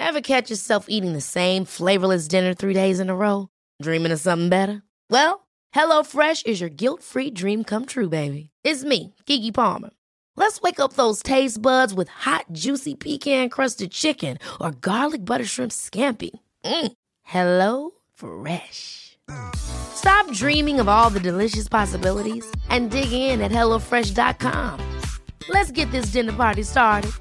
Ever catch yourself eating the same flavorless dinner 3 days in a row? Dreaming of something better? Well, HelloFresh is your guilt-free dream come true, baby. It's me, Keke Palmer. Let's wake up those taste buds with hot, juicy pecan-crusted chicken or garlic butter shrimp scampi. Hello Fresh. Stop dreaming of all the delicious possibilities and dig in at HelloFresh.com. Let's get this dinner party started.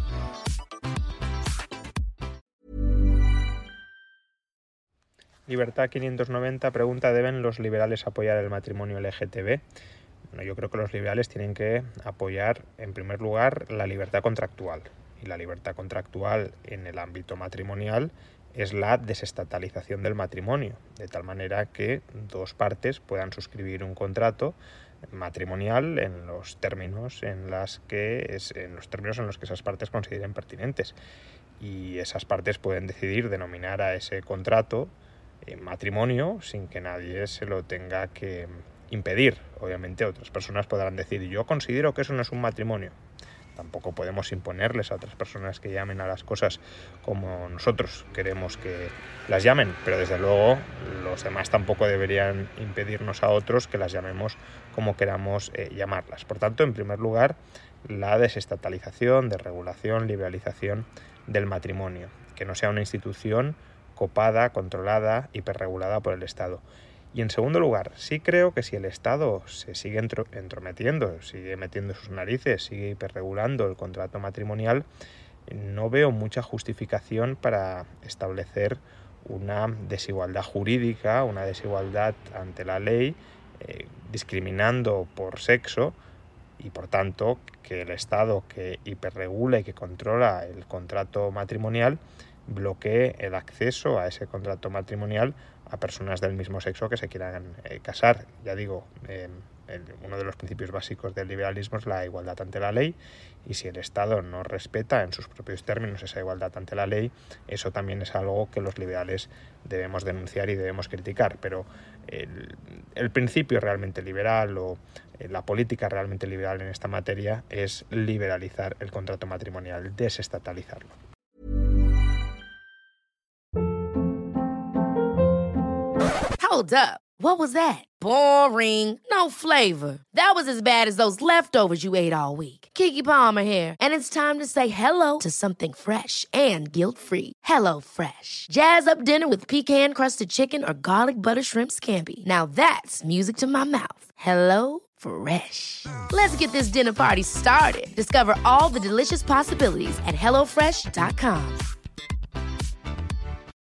Libertad 590 pregunta: ¿deben los liberales apoyar el matrimonio LGTB? Bueno, yo creo que los liberales tienen que apoyar, en primer lugar, la libertad contractual. Y la libertad contractual en el ámbito matrimonial es la desestatalización del matrimonio, de tal manera que dos partes puedan suscribir un contrato matrimonial en los términos en los que esas partes consideren pertinentes. Y esas partes pueden decidir denominar a ese contrato matrimonio sin que nadie se lo tenga que impedir. Obviamente otras personas podrán decir: yo considero que eso no es un matrimonio. Tampoco podemos imponerles a otras personas que llamen a las cosas como nosotros queremos que las llamen, pero desde luego los demás tampoco deberían impedirnos a otros que las llamemos como queramos llamarlas. Por tanto, en primer lugar, la desestatalización, desregulación, liberalización del matrimonio, que no sea una institución copada, controlada, hiperregulada por el Estado. Y en segundo lugar, sí creo que si el Estado se sigue entrometiendo, sigue metiendo sus narices, sigue hiperregulando el contrato matrimonial, no veo mucha justificación para establecer una desigualdad jurídica, una desigualdad ante la ley, discriminando por sexo, y por tanto que el Estado que hiperregula y que controla el contrato matrimonial bloquee el acceso a ese contrato matrimonial a personas del mismo sexo que se quieran casar. Ya digo, uno de los principios básicos del liberalismo es la igualdad ante la ley, y si el Estado no respeta en sus propios términos esa igualdad ante la ley, eso también es algo que los liberales debemos denunciar y debemos criticar. Pero el principio realmente liberal o la política realmente liberal en esta materia es liberalizar el contrato matrimonial, desestatalizarlo. Hold up. What was that? Boring. No flavor. That was as bad as those leftovers you ate all week. Keke Palmer here, and it's time to say hello to something fresh and guilt-free. Hello Fresh. Jazz up dinner with pecan-crusted chicken or garlic butter shrimp scampi. Now that's music to my mouth. Hello Fresh. Let's get this dinner party started. Discover all the delicious possibilities at HelloFresh.com.